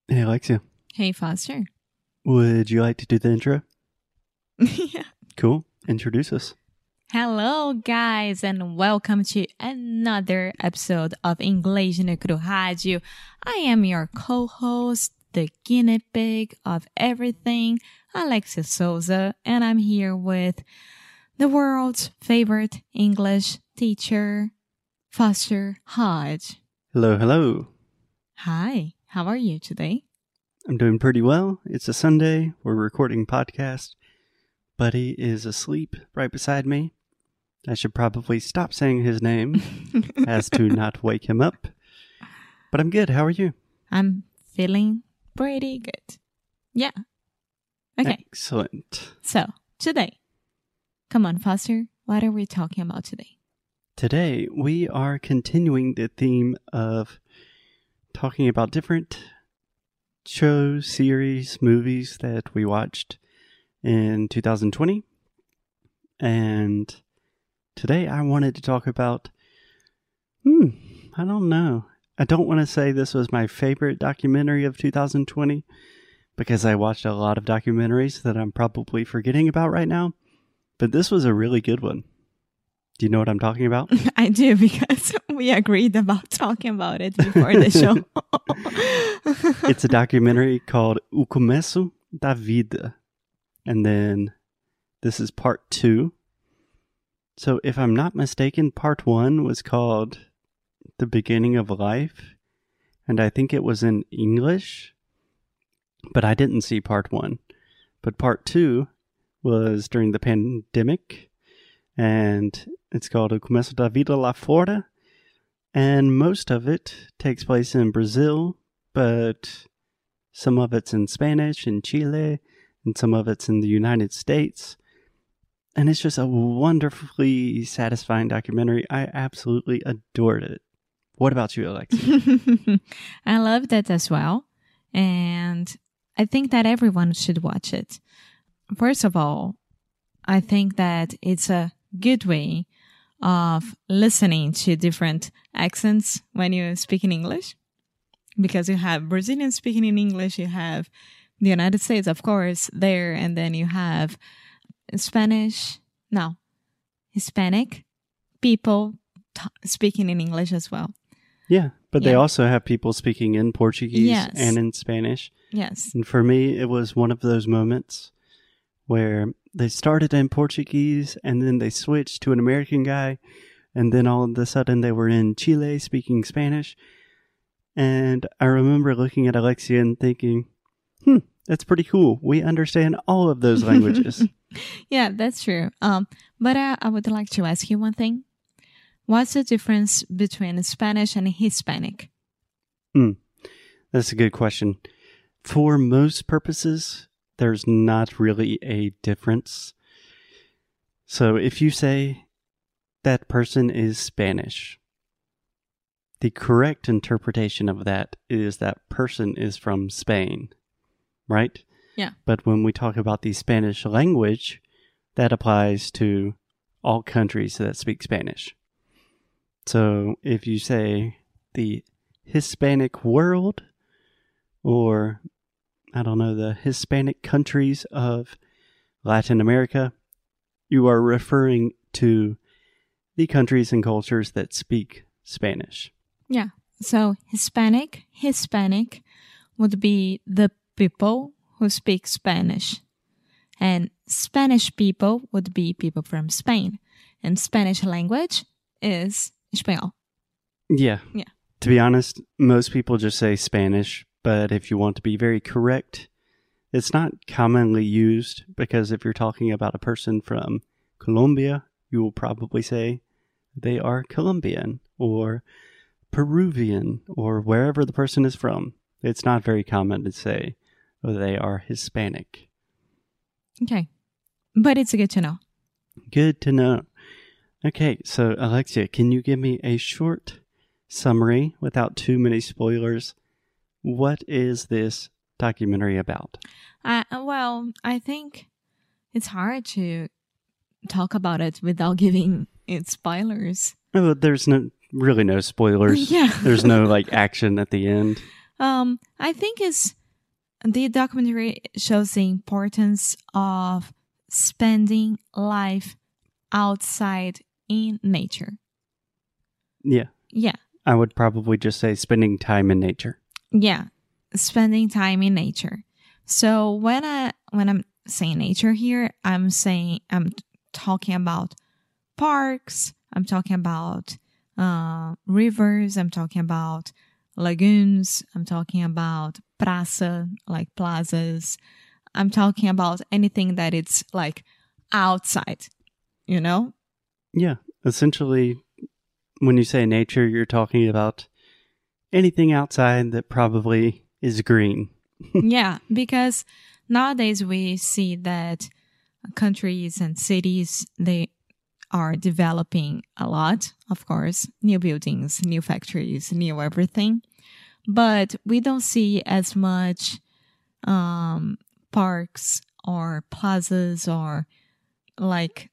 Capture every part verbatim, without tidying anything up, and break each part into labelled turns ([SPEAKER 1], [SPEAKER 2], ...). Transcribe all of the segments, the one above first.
[SPEAKER 1] Hey, Alexia,
[SPEAKER 2] Hey, Foster.
[SPEAKER 1] would you like to do the intro?
[SPEAKER 2] Yeah.
[SPEAKER 1] Cool. Introduce us.
[SPEAKER 2] Hello, guys, and welcome to another episode of Inglês no Cru Rádio. I am your co-host, the guinea pig of everything, Alexia Souza, and I'm here with the world's favorite English teacher, Foster Hodge.
[SPEAKER 1] Hello, hello.
[SPEAKER 2] Hi, how are you today?
[SPEAKER 1] I'm doing pretty well. It's a Sunday. We're recording podcast. Buddy is asleep right beside me. I should probably stop saying his name as to not wake him up. But I'm good. How are you?
[SPEAKER 2] I'm feeling pretty good. Yeah. Okay.
[SPEAKER 1] Excellent.
[SPEAKER 2] So, today, come on, Foster, what are we talking about today?
[SPEAKER 1] Today, we are continuing the theme of talking about different shows, series, movies that we watched in two thousand twenty. And today I wanted to talk about, hmm, I don't know. I don't want to say this was my favorite documentary of two thousand twenty because I watched a lot of documentaries that I'm probably forgetting about right now. But this was a really good one. Do you know what I'm talking about?
[SPEAKER 2] I do, because we agreed about talking about it before the show.
[SPEAKER 1] It's a documentary called O Começo da Vida. And then this is part two. So if I'm not mistaken, part one was called The Beginning of Life. And I think it was in English. But I didn't see part one. But part two was during the pandemic. And it's called O Começo da Vida lá fora. And most of it takes place in Brazil. But some of it's in Spanish in Chile. And some of it's in the United States. And it's just a wonderfully satisfying documentary. I absolutely adored it. What about you, Alexia?
[SPEAKER 2] I loved it as well. And I think that everyone should watch it. First of all, I think that it's a good way of listening to different accents when you speak in English. Because you have Brazilians speaking in English, you have the United States, of course, there, and then you have Spanish, no, Hispanic people t- speaking in English as well.
[SPEAKER 1] Yeah, but
[SPEAKER 2] Yeah.
[SPEAKER 1] they also have people speaking in Portuguese
[SPEAKER 2] Yes.
[SPEAKER 1] and in Spanish.
[SPEAKER 2] Yes.
[SPEAKER 1] And for me, it was one of those moments where they started in Portuguese and then they switched to an American guy. And then all of a sudden they were in Chile speaking Spanish. And I remember looking at Alexia and thinking, hmm, that's pretty cool. We understand all of those languages.
[SPEAKER 2] Yeah, that's true. Um, but I, I would like to ask you one thing. What's the difference between Spanish and Hispanic?
[SPEAKER 1] Hmm, that's a good question. For most purposes, there's not really a difference. So if you say that person is Spanish, the correct interpretation of that is that person is from Spain, right?
[SPEAKER 2] Yeah.
[SPEAKER 1] But when we talk about the Spanish language, that applies to all countries that speak Spanish. So if you say the Hispanic world, or I don't know, the Hispanic countries of Latin America, you are referring to the countries and cultures that speak Spanish.
[SPEAKER 2] Yeah. So Hispanic, Hispanic would be the people who speak Spanish. And Spanish people would be people from Spain. And Spanish language is Espanhol.
[SPEAKER 1] Yeah.
[SPEAKER 2] Yeah.
[SPEAKER 1] To be honest, most people just say Spanish, but if you want to be very correct, it's not commonly used because if you're talking about a person from Colombia, you will probably say they are Colombian or Peruvian or wherever the person is from. It's not very common to say they are Hispanic.
[SPEAKER 2] Okay. But it's good to know.
[SPEAKER 1] Good to know. Okay, so Alexia, can you give me a short summary without too many spoilers? What is this documentary about?
[SPEAKER 2] Uh, well, I think it's hard to talk about it without giving it spoilers.
[SPEAKER 1] Oh, there's no really no spoilers.
[SPEAKER 2] Yeah.
[SPEAKER 1] There's no like action at the end.
[SPEAKER 2] Um, I think it's the documentary shows the importance of spending life outside in nature.
[SPEAKER 1] Yeah.
[SPEAKER 2] Yeah.
[SPEAKER 1] I would probably just say spending time in nature.
[SPEAKER 2] Yeah. Spending time in nature. So when I when I'm saying nature here, I'm saying I'm talking about parks, I'm talking about uh, rivers, I'm talking about lagoons, I'm talking about praça, like plazas. I'm talking about anything that it's like outside, you know?
[SPEAKER 1] Yeah. Essentially, when you say nature, you're talking about anything outside that probably is green.
[SPEAKER 2] Yeah, because nowadays we see that countries and cities, they are developing a lot, of course, new buildings, new factories, new everything. But we don't see as much um, parks or plazas or like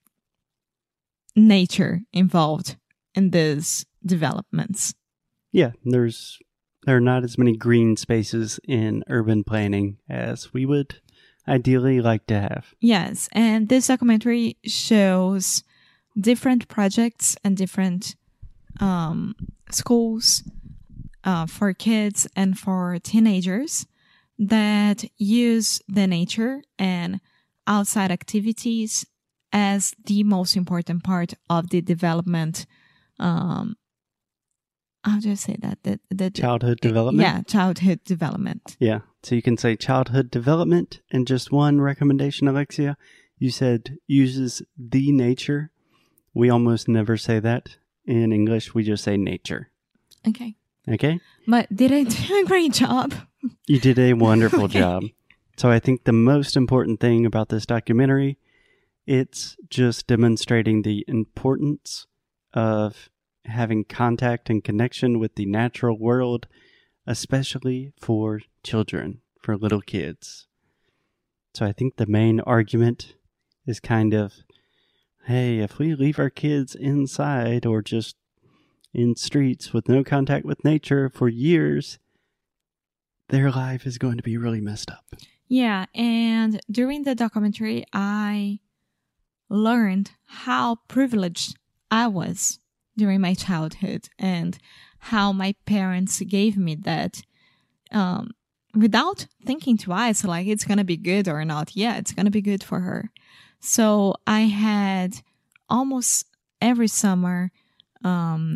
[SPEAKER 2] nature involved in these developments.
[SPEAKER 1] Yeah, there's there are not as many green spaces in urban planning as we would ideally like to have.
[SPEAKER 2] Yes, and this documentary shows different projects and different um, schools uh, for kids and for teenagers that use the nature and outside activities as the most important part of the development. Um, how do you say that? The, the,
[SPEAKER 1] Childhood development?
[SPEAKER 2] Yeah, childhood development.
[SPEAKER 1] Yeah. So you can say childhood development, and just one recommendation, Alexia. You said uses the nature. We almost never say that. In English, we just say nature.
[SPEAKER 2] Okay.
[SPEAKER 1] Okay?
[SPEAKER 2] But did I do a great job?
[SPEAKER 1] You did a wonderful
[SPEAKER 2] Okay.
[SPEAKER 1] job. So I think the most important thing about this documentary, it's just demonstrating the importance of having contact and connection with the natural world, especially for children, for little kids. So I think the main argument is kind of, hey, if we leave our kids inside or just in streets with no contact with nature for years, their life is going to be really messed up.
[SPEAKER 2] Yeah, and during the documentary, I learned how privileged I was during my childhood and how my parents gave me that um, without thinking twice, like it's going to be good or not. Yeah, it's going to be good for her. So I had almost every summer um,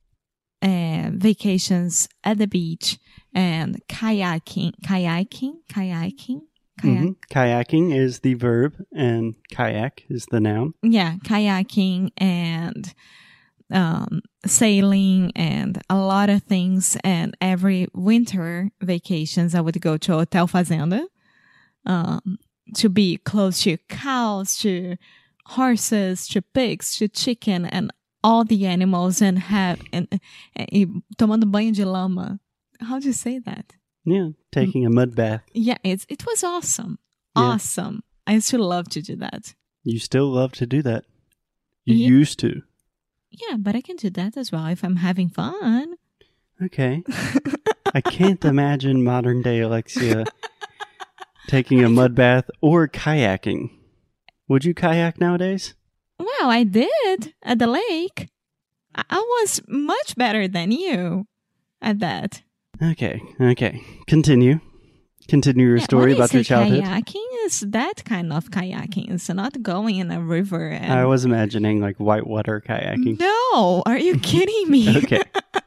[SPEAKER 2] uh, vacations at the beach and kayaking, kayaking, kayaking, kayak.
[SPEAKER 1] Mhm. Kayaking is the verb and kayak is the noun.
[SPEAKER 2] Yeah, kayaking and um, sailing and a lot of things. And every winter vacations, I would go to Hotel Fazenda um, to be close to cows, to horses, to pigs, to chicken, and all the animals, and have and, and, and tomando banho de lama. How do you say that?
[SPEAKER 1] Yeah, taking a mud bath.
[SPEAKER 2] Yeah, it's it was awesome,
[SPEAKER 1] Yeah.
[SPEAKER 2] awesome. I still love to do that.
[SPEAKER 1] You still love to do that. You
[SPEAKER 2] Yeah.
[SPEAKER 1] used to.
[SPEAKER 2] Yeah, but I can do that as well if I'm having fun.
[SPEAKER 1] Okay. I can't imagine modern day Alexia taking a mud bath or kayaking. Would you kayak nowadays?
[SPEAKER 2] Well, I did at the lake. I, I was much better than you at that.
[SPEAKER 1] Okay, okay. Continue. Continue your
[SPEAKER 2] Yeah,
[SPEAKER 1] story
[SPEAKER 2] when I
[SPEAKER 1] about your
[SPEAKER 2] say
[SPEAKER 1] childhood.
[SPEAKER 2] Kayaking is that kind of kayaking. It's not going in a river. And
[SPEAKER 1] I was imagining like whitewater kayaking.
[SPEAKER 2] No, are you kidding me?
[SPEAKER 1] Okay.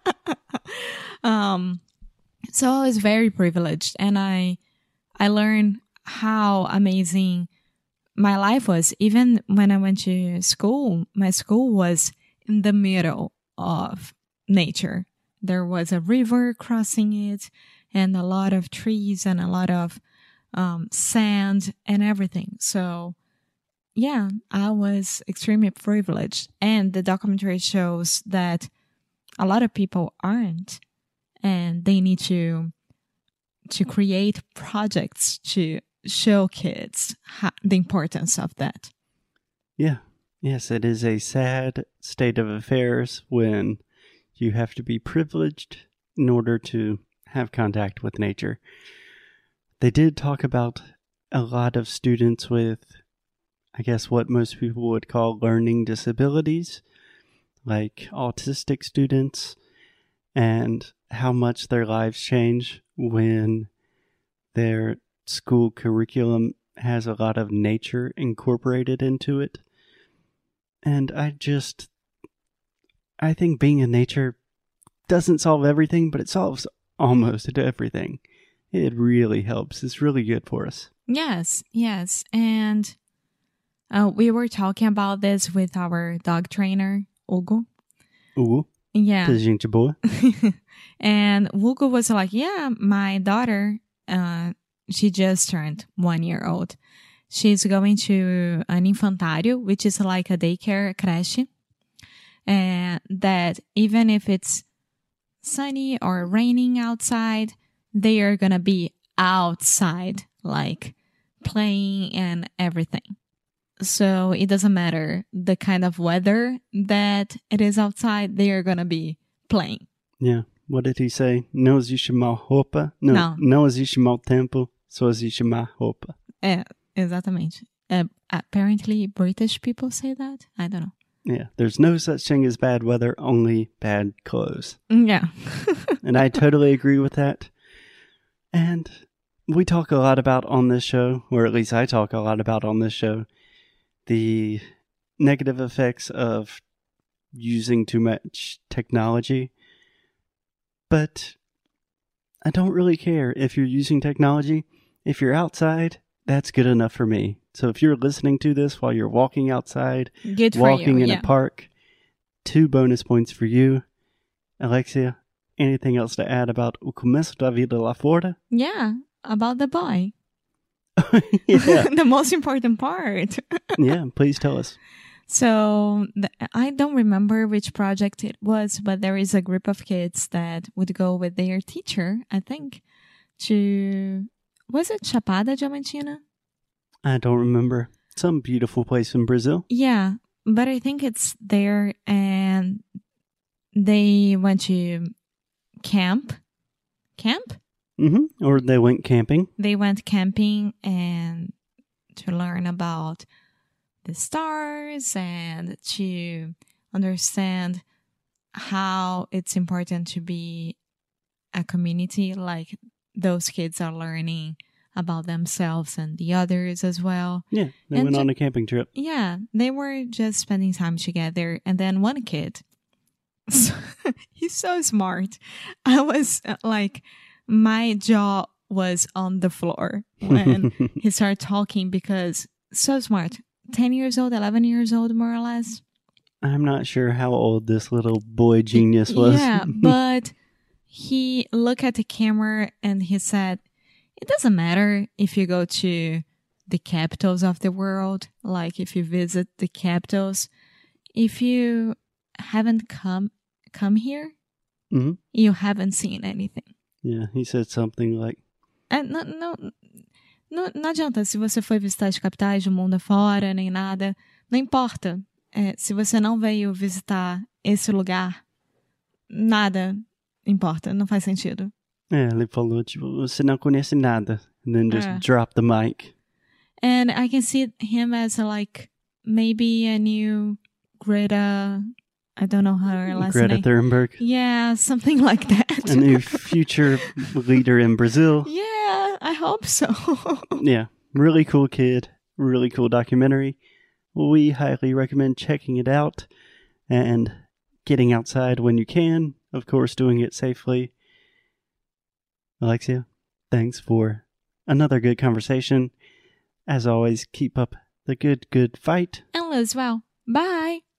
[SPEAKER 2] um, so I was very privileged, and I, I learned how amazing my life was. Even when I went to school, my school was in the middle of nature. There was a river crossing it, and a lot of trees and a lot of um, sand and everything. So, yeah, I was extremely privileged. And the documentary shows that a lot of people aren't, and they need to to create projects to show kids how, the importance of that.
[SPEAKER 1] Yeah. Yes, it is a sad state of affairs when you have to be privileged in order to have contact with nature. They did talk about a lot of students with, I guess, what most people would call learning disabilities, like autistic students, and how much their lives change when their school curriculum has a lot of nature incorporated into it. And I just, I think being in nature doesn't solve everything, but it solves almost everything. It really helps. It's really good for us.
[SPEAKER 2] Yes, yes. And uh, we were talking about this with our dog trainer, Hugo.
[SPEAKER 1] Hugo?
[SPEAKER 2] Yeah.
[SPEAKER 1] Gente boa.
[SPEAKER 2] And Hugo was like, yeah, my daughter, uh, she just turned one year old. She's going to an infantário, which is like a daycare creche. And that even if it's sunny or raining outside, they are going to be outside, like playing and everything. So it doesn't matter the kind of weather that it is outside, they are going to be playing.
[SPEAKER 1] Yeah. What did he say? Não existe mal roupa. No,
[SPEAKER 2] Não.
[SPEAKER 1] Não existe mau tempo, só existe má roupa.
[SPEAKER 2] É, exatamente. Uh, apparently British people say that. I don't know.
[SPEAKER 1] Yeah. There's no such thing as bad weather, only bad clothes.
[SPEAKER 2] Yeah.
[SPEAKER 1] And I totally agree with that. And we talk a lot about on this show, or at least I talk a lot about on this show, the negative effects of using too much technology. But I don't really care if you're using technology. If you're outside, that's good enough for me. So if you're listening to this while you're walking outside,
[SPEAKER 2] Good for
[SPEAKER 1] walking
[SPEAKER 2] you,
[SPEAKER 1] in
[SPEAKER 2] yeah.
[SPEAKER 1] a park, two bonus points for you. Alexia, anything else to add about O Começo da Vida lá fora?
[SPEAKER 2] Yeah, about the boy.
[SPEAKER 1] Yeah.
[SPEAKER 2] The most important part.
[SPEAKER 1] Yeah, please tell us.
[SPEAKER 2] So th- I don't remember which project it was, but there is a group of kids that would go with their teacher, I think, to, was it Chapada Diamantina?
[SPEAKER 1] I don't remember. Some beautiful place in Brazil.
[SPEAKER 2] Yeah, but I think it's there, and they went to camp. Camp?
[SPEAKER 1] Mm-hmm. Or they went camping.
[SPEAKER 2] They went camping and to learn about the stars and to understand how it's important to be a community. Like those kids are learning about themselves and the others as well.
[SPEAKER 1] Yeah, they
[SPEAKER 2] And
[SPEAKER 1] went
[SPEAKER 2] ju-
[SPEAKER 1] on a camping trip.
[SPEAKER 2] Yeah, they were just spending time together. And then one kid, he's so smart. I was uh, like, my jaw was on the floor when he started talking because so smart. ten years old, eleven years old, more or less.
[SPEAKER 1] I'm not sure how old this little boy genius was.
[SPEAKER 2] Yeah, but he looked at the camera and he said, it doesn't matter if you go to the capitals of the world, like if you visit the capitals, if you haven't come come here,
[SPEAKER 1] Mhm.
[SPEAKER 2] you haven't seen anything.
[SPEAKER 1] Yeah, he said something like,
[SPEAKER 2] É, não, não, não, não adianta se você foi visitar as capitais do mundo afora, nem nada. Não importa. É, se você não veio visitar esse lugar, nada importa. Não faz sentido.
[SPEAKER 1] é, ele falou, tipo, você não conhece nada. And then just
[SPEAKER 2] É.
[SPEAKER 1] drop the mic.
[SPEAKER 2] And I can see him as a, like, maybe a new Greta, I don't know her last
[SPEAKER 1] Greta
[SPEAKER 2] name.
[SPEAKER 1] Thunberg,
[SPEAKER 2] Yeah, something like that.
[SPEAKER 1] a new future leader in Brazil.
[SPEAKER 2] Yeah, I hope so.
[SPEAKER 1] Yeah, really cool kid. Really cool documentary. We highly recommend checking it out and getting outside when you can. Of course, doing it safely. Alexia, thanks for another good conversation. As always, keep up the good, good fight.
[SPEAKER 2] And Liz, well, bye.